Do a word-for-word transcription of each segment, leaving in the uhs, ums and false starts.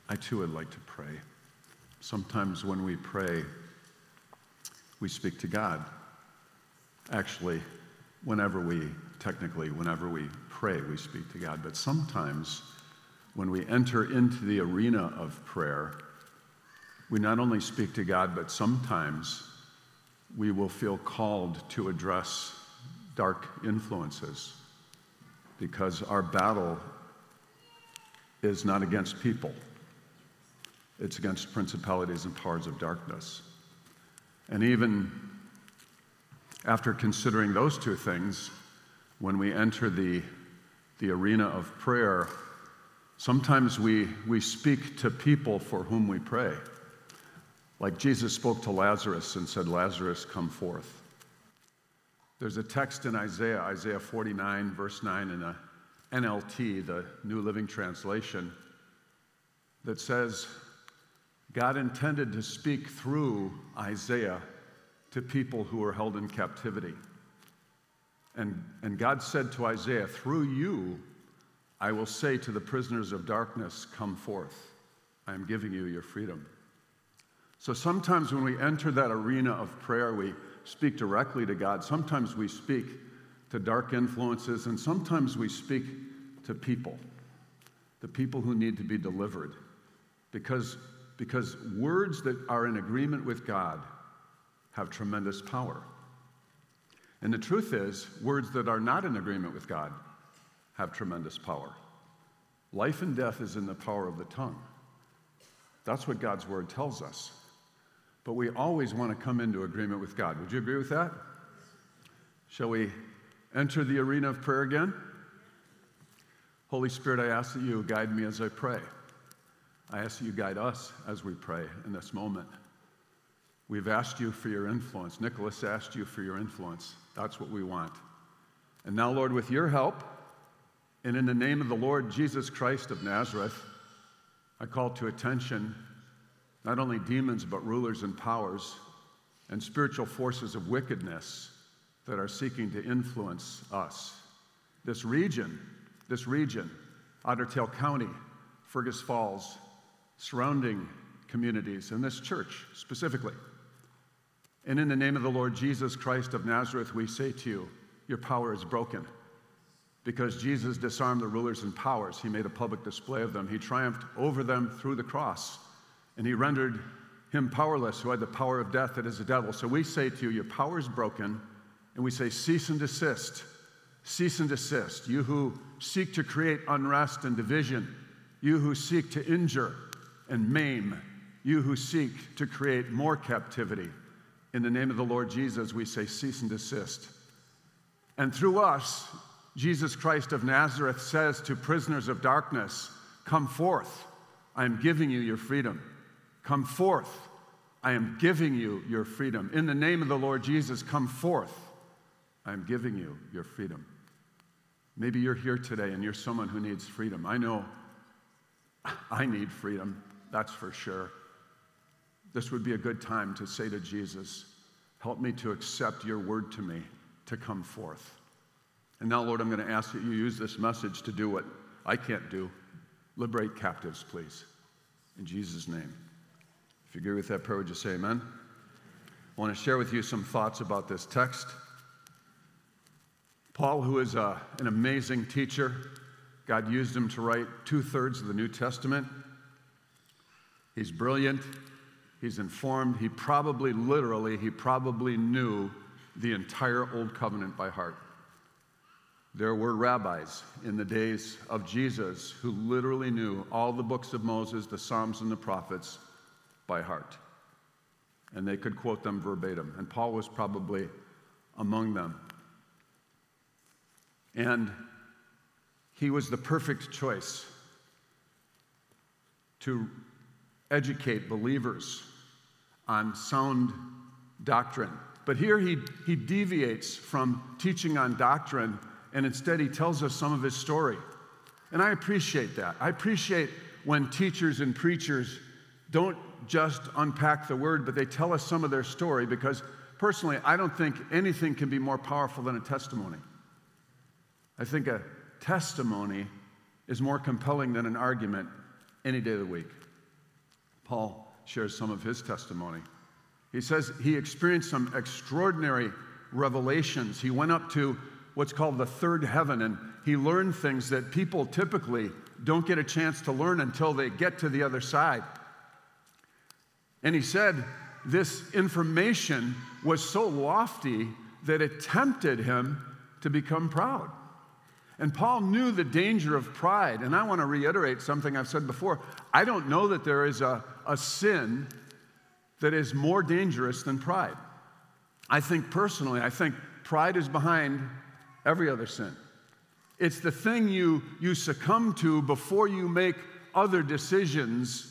I too would like to pray. Sometimes when we pray, we speak to God. Actually, whenever we, technically, whenever we pray, we speak to God. But sometimes when we enter into the arena of prayer, we not only speak to God, but sometimes we will feel called to address dark influences, because our battle is not against people. It's against principalities and powers of darkness. And even after considering those two things, when we enter the, the arena of prayer, sometimes we, we speak to people for whom we pray. Like Jesus spoke to Lazarus and said, "Lazarus, come forth." There's a text in Isaiah, Isaiah forty-nine, verse nine, in the N L T, the New Living Translation, that says, God intended to speak through Isaiah to people who were held in captivity. And, and God said to Isaiah, "Through you, I will say to the prisoners of darkness, come forth. I am giving you your freedom." So sometimes when we enter that arena of prayer, we speak directly to God. Sometimes we speak to dark influences, and sometimes we speak to people, the people who need to be delivered. Because, because words that are in agreement with God have tremendous power. And the truth is, words that are not in agreement with God have tremendous power. Life and death is in the power of the tongue. That's what God's word tells us. But we always want to come into agreement with God. Would you agree with that? Shall we enter the arena of prayer again? Holy Spirit, I ask that you guide me as I pray. I ask that you guide us as we pray in this moment. We've asked you for your influence. Nicholas asked you for your influence. That's what we want. And now, Lord, with your help, and in the name of the Lord Jesus Christ of Nazareth, I call to attention not only demons, but rulers and powers and spiritual forces of wickedness that are seeking to influence us. This region, this region, Otter Tail County, Fergus Falls, surrounding communities, and this church specifically. And in the name of the Lord Jesus Christ of Nazareth, we say to you, your power is broken. Because Jesus disarmed the rulers and powers, he made a public display of them. He triumphed over them through the cross. And he rendered him powerless, who had the power of death, that is the devil. So we say to you, your power is broken, and we say, cease and desist. Cease and desist. You who seek to create unrest and division, you who seek to injure and maim, you who seek to create more captivity. In the name of the Lord Jesus, we say, cease and desist. And through us, Jesus Christ of Nazareth says to prisoners of darkness, come forth. I am giving you your freedom. Come forth. I am giving you your freedom. In the name of the Lord Jesus, come forth. I am giving you your freedom. Maybe you're here today and you're someone who needs freedom. I know I need freedom, that's for sure. This would be a good time to say to Jesus, help me to accept your word to me, to come forth. And now, Lord, I'm going to ask that you use this message to do what I can't do. Liberate captives, please. In Jesus' name. If you agree with that prayer, would you say amen? I want to share with you some thoughts about this text. Paul, who is a, an amazing teacher, God used him to write two-thirds of the New Testament. He's brilliant. He's informed. He probably, literally, he probably knew the entire Old Covenant by heart. There were rabbis in the days of Jesus who literally knew all the books of Moses, the Psalms, and the prophets by heart. And they could quote them verbatim. And Paul was probably among them. And he was the perfect choice to educate believers on sound doctrine. But here he, he deviates from teaching on doctrine, and instead he tells us some of his story. And I appreciate that. I appreciate when teachers and preachers don't just unpack the word, but they tell us some of their story, because personally, I don't think anything can be more powerful than a testimony. I think a testimony is more compelling than an argument any day of the week. Paul shares some of his testimony. He says he experienced some extraordinary revelations. He went up to what's called the third heaven, and he learned things that people typically don't get a chance to learn until they get to the other side. And he said this information was so lofty that it tempted him to become proud. And Paul knew the danger of pride. And I want to reiterate something I've said before. I don't know that there is a, a sin that is more dangerous than pride. I think personally, I think pride is behind every other sin. It's the thing you, you succumb to before you make other decisions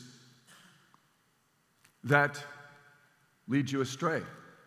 that lead you astray.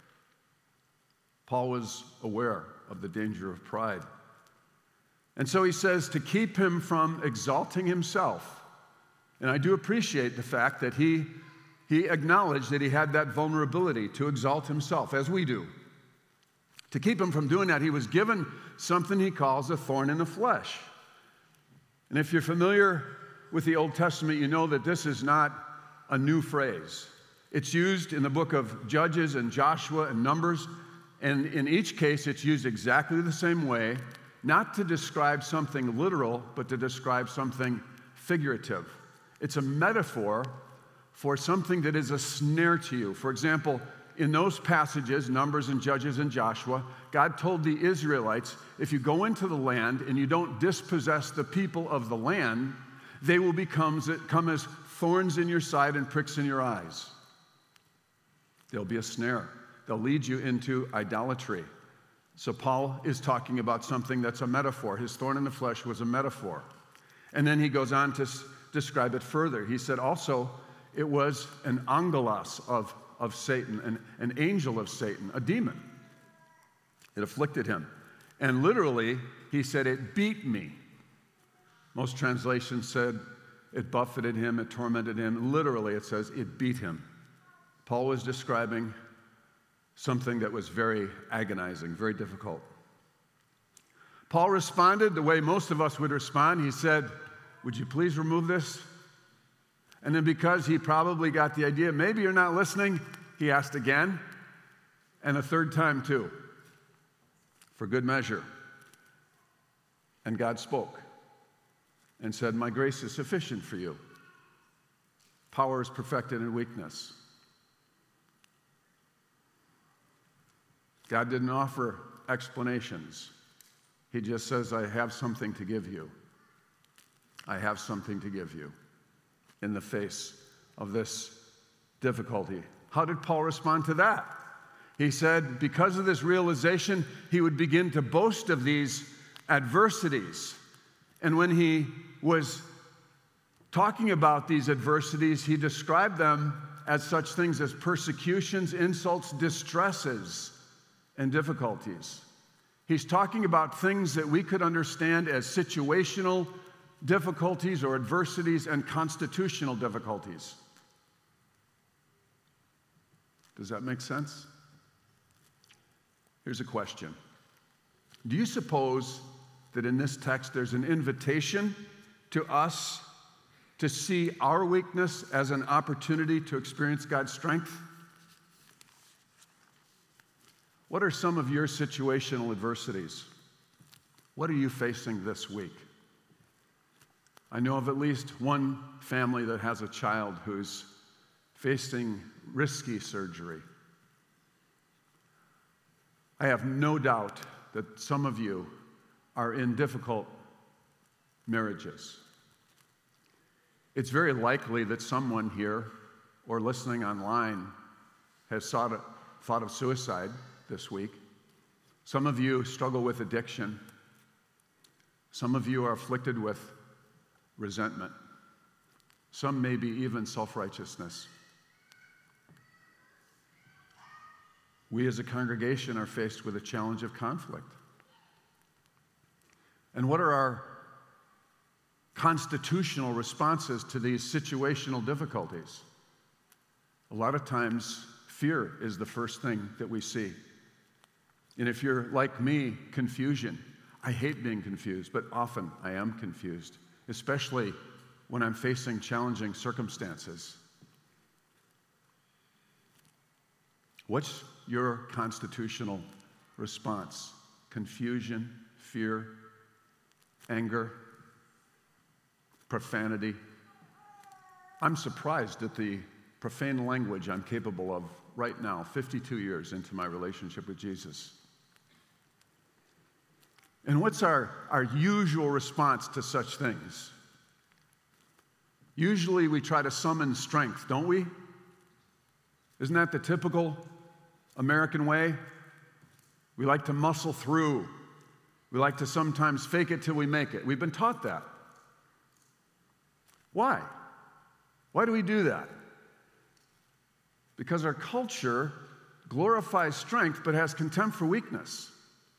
Paul was aware of the danger of pride. And so he says to keep him from exalting himself. And I do appreciate the fact that he, he acknowledged that he had that vulnerability to exalt himself, as we do. To keep him from doing that, he was given something he calls a thorn in the flesh. And if you're familiar with the Old Testament, you know that this is not a new phrase. It's used in the book of Judges and Joshua and Numbers, and in each case it's used exactly the same way, not to describe something literal, but to describe something figurative. It's a metaphor for something that is a snare to you. For example, in those passages, Numbers and Judges and Joshua, God told the Israelites, if you go into the land and you don't dispossess the people of the land, they will become come as thorns in your side and pricks in your eyes. They'll be a snare. They'll lead you into idolatry. So Paul is talking about something that's a metaphor. His thorn in the flesh was a metaphor. And then he goes on to s- describe it further. He said also it was an angelos of of Satan, an, an angel of Satan, a demon. It afflicted him. And literally, he said, it beat me. Most translations said it buffeted him, it tormented him. Literally, it says it beat him. Paul was describing something that was very agonizing, very difficult. Paul responded the way most of us would respond. He said, would you please remove this? And then because he probably got the idea, maybe you're not listening, he asked again, and a third time too, for good measure. And God spoke and said, my grace is sufficient for you. Power is perfected in weakness. God didn't offer explanations. He just says, I have something to give you. I have something to give you. In the face of this difficulty. How did Paul respond to that? He said because of this realization, he would begin to boast of these adversities. And when he was talking about these adversities, he described them as such things as persecutions, insults, distresses, and difficulties. He's talking about things that we could understand as situational difficulties or adversities and constitutional difficulties. Does that make sense? Here's a question. Do you suppose that in this text there's an invitation to us to see our weakness as an opportunity to experience God's strength? What are some of your situational adversities? What are you facing this week? I know of at least one family that has a child who's facing risky surgery. I have no doubt that some of you are in difficult marriages. It's very likely that someone here or listening online has thought of, thought of suicide this week. Some of you struggle with addiction. Some of you are afflicted with resentment. Some maybe even self-righteousness. We as a congregation are faced with a challenge of conflict. And what are our constitutional responses to these situational difficulties? A lot of times, fear is the first thing that we see. And if you're like me, confusion. I hate being confused, but often I am confused, especially when I'm facing challenging circumstances. What's your constitutional response? Confusion, fear, anger, profanity? I'm surprised at the profane language I'm capable of right now, fifty-two years into my relationship with Jesus. And what's our, our usual response to such things? Usually we try to summon strength, don't we? Isn't that the typical American way? We like to muscle through. We like to sometimes fake it till we make it. We've been taught that. Why? Why do we do that? Because our culture glorifies strength but has contempt for weakness.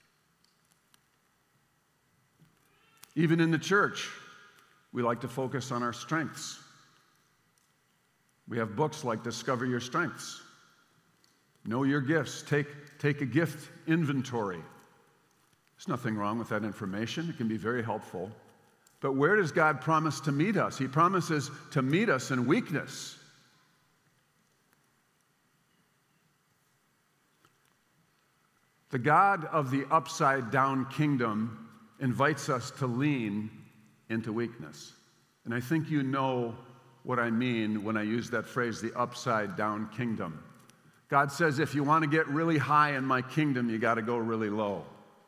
Even in the church, we like to focus on our strengths. We have books like Discover Your Strengths. Know your gifts. Take, take a gift inventory. There's nothing wrong with that information. It can be very helpful. But where does God promise to meet us? He promises to meet us in weakness. The God of the upside-down kingdom invites us to lean into weakness. And I think you know what I mean when I use that phrase, the upside-down kingdom. God says, if you want to get really high in my kingdom, you got to go really low.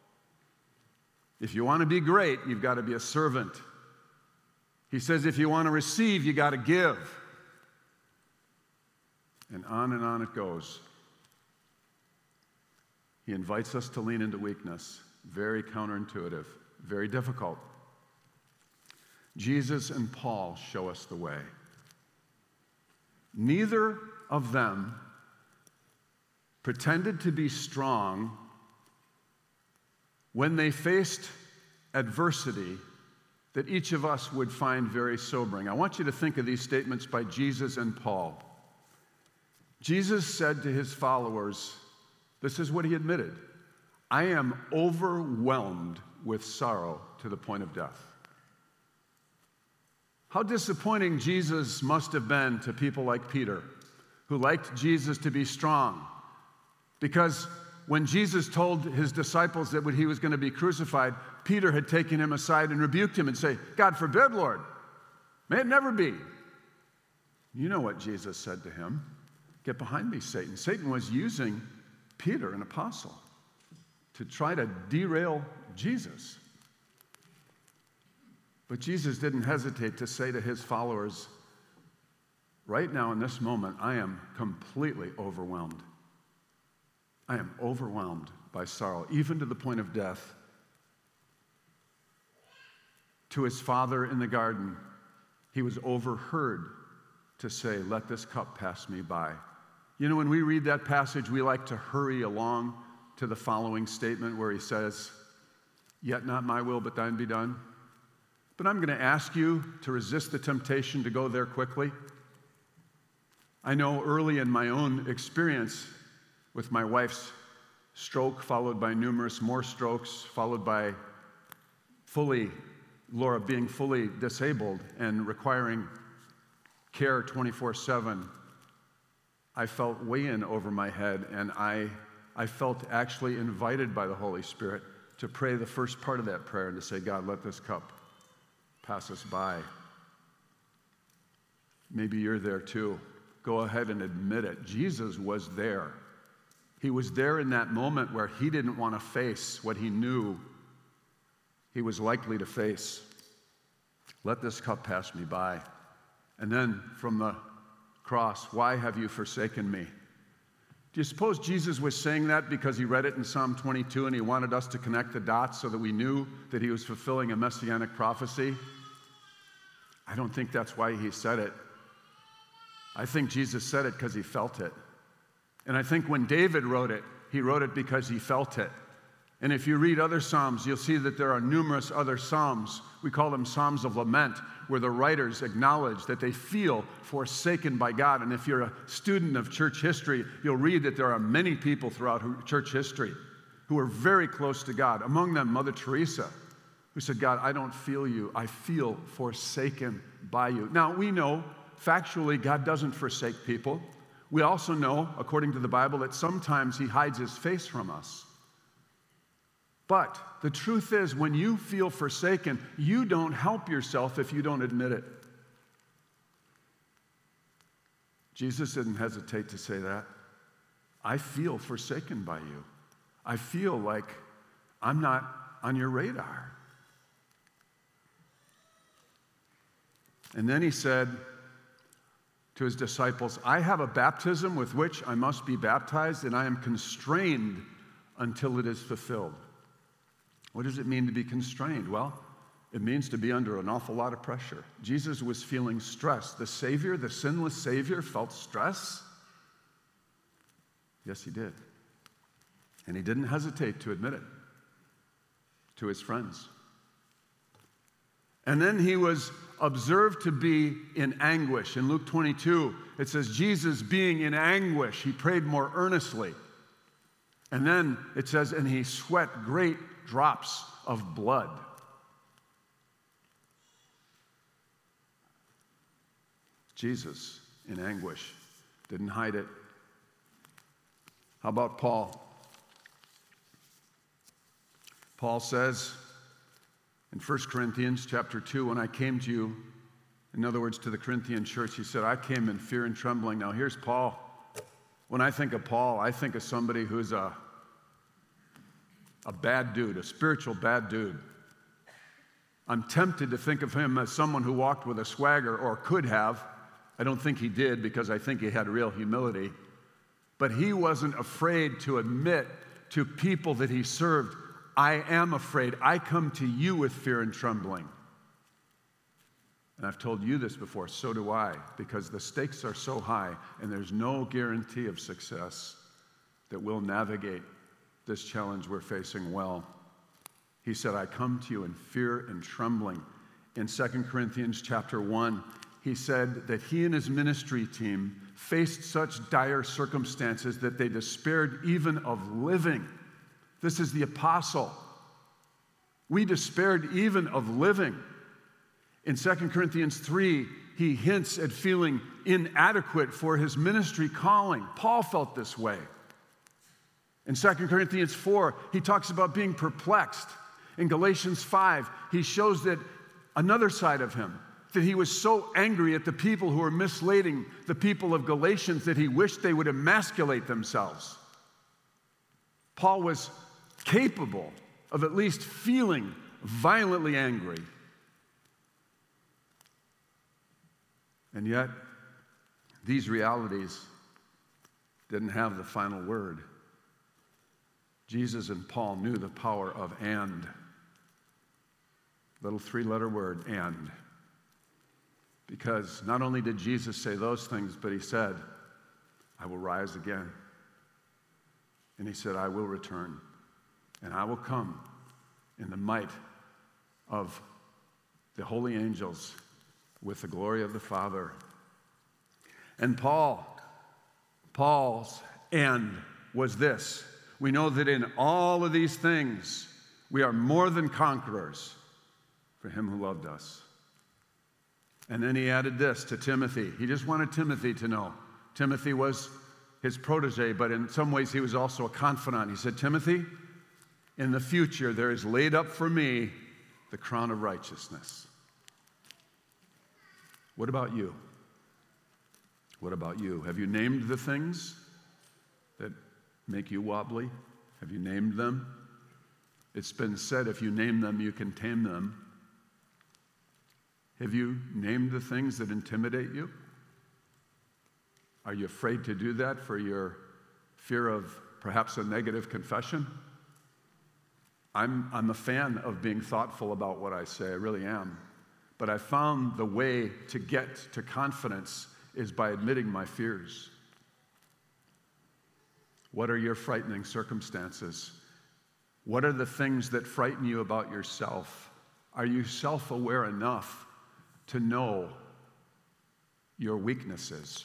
If you want to be great, you've got to be a servant. He says, if you want to receive, you got to give. And on and on it goes. He invites us to lean into weakness. Very counterintuitive, very difficult. Jesus and Paul show us the way. Neither of them pretended to be strong when they faced adversity that each of us would find very sobering. I want you to think of these statements by Jesus and Paul. Jesus said to his followers, this is what he admitted, I am overwhelmed with sorrow to the point of death. How disappointing Jesus must have been to people like Peter, who liked Jesus to be strong. Because when Jesus told his disciples that when he was going to be crucified, Peter had taken him aside and rebuked him and said, God forbid, Lord, may it never be. You know what Jesus said to him. Get behind me, Satan. Satan was using Peter, an apostle, to try to derail Jesus. But Jesus didn't hesitate to say to his followers, right now in this moment, I am completely overwhelmed. I am overwhelmed by sorrow, even to the point of death. To his Father in the garden, he was overheard to say, let this cup pass me by. You know, when we read that passage, we like to hurry along to the following statement where he says, yet not my will, but thine be done. But I'm going to ask you to resist the temptation to go there quickly. I know early in my own experience with my wife's stroke, followed by numerous more strokes, followed by fully, Laura being fully disabled and requiring care twenty-four seven, I felt way in over my head, and I, I felt actually invited by the Holy Spirit to pray the first part of that prayer and to say, God, let this cup pass us by. Maybe you're there too. Go ahead and admit it. Jesus was there. He was there in that moment where he didn't want to face what he knew he was likely to face. Let this cup pass me by. And then from the cross, why have you forsaken me? Do you suppose Jesus was saying that because he read it in Psalm twenty-two and he wanted us to connect the dots so that we knew that he was fulfilling a messianic prophecy? I don't think that's why he said it. I think Jesus said it because he felt it. And I think when David wrote it, he wrote it because he felt it. And if you read other Psalms, you'll see that there are numerous other Psalms. We call them Psalms of Lament, where the writers acknowledge that they feel forsaken by God. And if you're a student of church history, you'll read that there are many people throughout church history who are very close to God. Among them, Mother Teresa, who said, God, I don't feel you. I feel forsaken by you. Now, we know factually God doesn't forsake people. We also know, according to the Bible, that sometimes he hides his face from us. But the truth is, when you feel forsaken, you don't help yourself if you don't admit it. Jesus didn't hesitate to say that. I feel forsaken by you. I feel like I'm not on your radar. And then he said to his disciples, I have a baptism with which I must be baptized, and I am constrained until it is fulfilled. What does it mean to be constrained? Well, it means to be under an awful lot of pressure. Jesus was feeling stress. The Savior, the sinless Savior, felt stress. Yes, he did. And he didn't hesitate to admit it to his friends. And then he was observed to be in anguish. In Luke twenty-two, it says, Jesus being in anguish, he prayed more earnestly. And then it says, and he sweat great drops of blood. Jesus in anguish, didn't hide it. How about Paul? Paul says in First Corinthians chapter two, when I came to you, in other words, to the Corinthian church, he said, I came in fear and trembling. Now here's Paul. When I think of Paul, I think of somebody who's a, a bad dude, a spiritual bad dude. I'm tempted to think of him as someone who walked with a swagger, or could have. I don't think he did, because I think he had real humility. But he wasn't afraid to admit to people that he served, I am afraid. I come to you with fear and trembling. And I've told you this before, so do I, because the stakes are so high and there's no guarantee of success that we'll navigate this challenge we're facing well. He said, I come to you in fear and trembling. In Second Corinthians chapter one, he said that he and his ministry team faced such dire circumstances that they despaired even of living. This is the apostle. We despaired even of living. In Second Corinthians three, he hints at feeling inadequate for his ministry calling. Paul felt this way. In Second Corinthians four, he talks about being perplexed. In Galatians five, he shows that another side of him, that he was so angry at the people who were misleading the people of Galatians that he wished they would emasculate themselves. Paul was capable of at least feeling violently angry. And yet, these realities didn't have the final word. Jesus and Paul knew the power of and. Little three-letter word, and. Because not only did Jesus say those things, but he said, I will rise again. And he said, I will return. And I will come in the might of the holy angels with the glory of the Father. And Paul, Paul's end was this. We know that in all of these things, we are more than conquerors for him who loved us. And then he added this to Timothy. He just wanted Timothy to know. Timothy was his protege, but in some ways he was also a confidant. He said, Timothy, in the future there is laid up for me the crown of righteousness. What about you? What about you? Have you named the things that make you wobbly? Have you named them? It's been said, if you name them, you can tame them. Have you named the things that intimidate you? Are you afraid to do that for your fear of perhaps a negative confession? I'm, I'm a fan of being thoughtful about what I say, I really am. But I found the way to get to confidence is by admitting my fears. What are your frightening circumstances? What are the things that frighten you about yourself? Are you self-aware enough to know your weaknesses?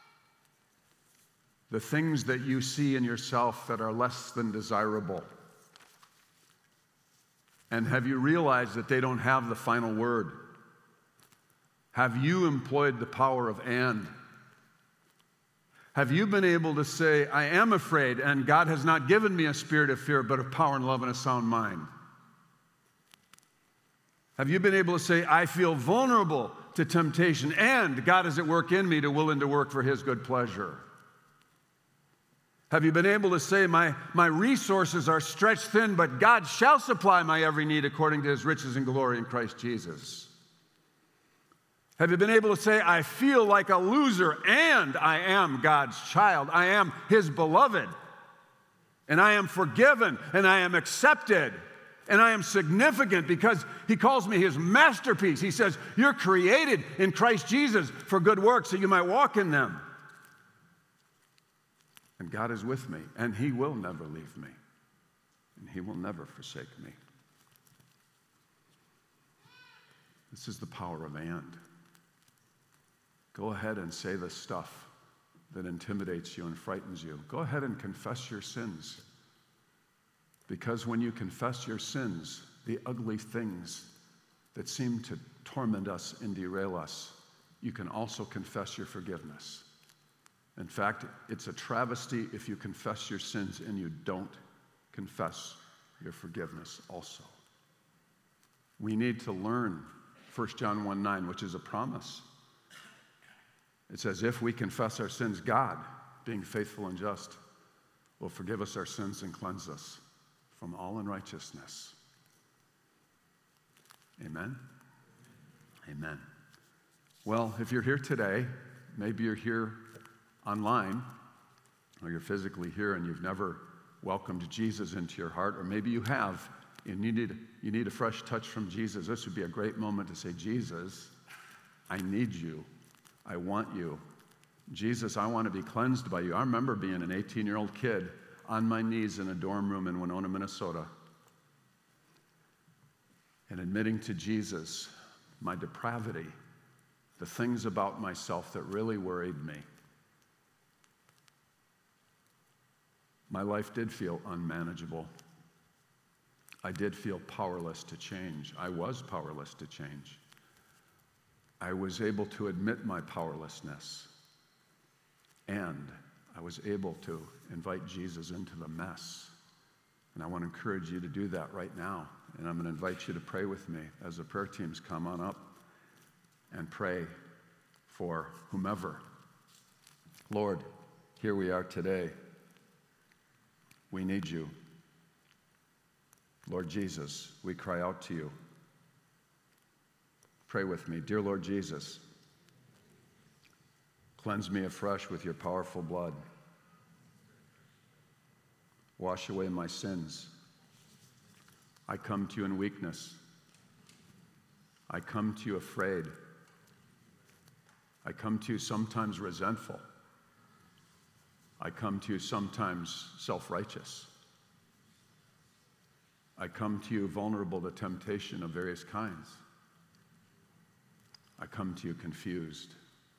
The things that you see in yourself that are less than desirable. And have you realized that they don't have the final word? Have you employed the power of and? Have you been able to say, I am afraid, and God has not given me a spirit of fear, but of power and love and a sound mind? Have you been able to say, I feel vulnerable to temptation, and God is at work in me to willing to work for his good pleasure? Have you been able to say, my, my resources are stretched thin, but God shall supply my every need according to his riches and glory in Christ Jesus? Have you been able to say, I feel like a loser, and I am God's child. I am his beloved, and I am forgiven, and I am accepted, and I am significant because he calls me his masterpiece. He says, you're created in Christ Jesus for good works, so you might walk in them. And God is with me, and he will never leave me, and he will never forsake me. This is the power of and. Go ahead and say the stuff that intimidates you and frightens you. Go ahead and confess your sins. Because when you confess your sins, the ugly things that seem to torment us and derail us, you can also confess your forgiveness. In fact, it's a travesty if you confess your sins and you don't confess your forgiveness also. We need to learn First John one nine, which is a promise. It says, if we confess our sins, God, being faithful and just, will forgive us our sins and cleanse us from all unrighteousness. Amen? Amen. Well, if you're here today, maybe you're here online, or you're physically here and you've never welcomed Jesus into your heart, or maybe you have, and you need, you need a fresh touch from Jesus. This would be a great moment to say, Jesus, I need you. I want you. Jesus, I want to be cleansed by you. I remember being an eighteen-year-old kid on my knees in a dorm room in Winona, Minnesota, and admitting to Jesus my depravity, the things about myself that really worried me. My life did feel unmanageable. I did feel powerless to change. I was powerless to change. I was able to admit my powerlessness, and I was able to invite Jesus into the mess. And I want to encourage you to do that right now. And I'm going to invite you to pray with me as the prayer teams come on up and pray for whomever. Lord, here we are today. We need you. Lord Jesus, we cry out to you. Pray with me. Dear Lord Jesus, cleanse me afresh with your powerful blood. Wash away my sins. I come to you in weakness. I come to you afraid. I come to you sometimes resentful. I come to you sometimes self-righteous. I come to you vulnerable to temptation of various kinds. I come to you confused.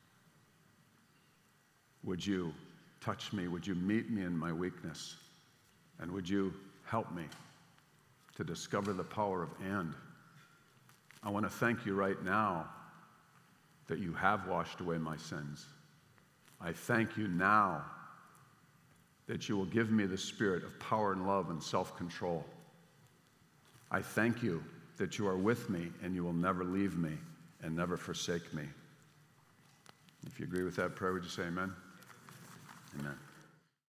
Would you touch me? Would you meet me in my weakness? And would you help me to discover the power of and? I want to thank you right now that you have washed away my sins. I thank you now that you will give me the spirit of power and love and self-control. I thank you that you are with me and you will never leave me and never forsake me. If you agree with that prayer, would you say amen? Amen.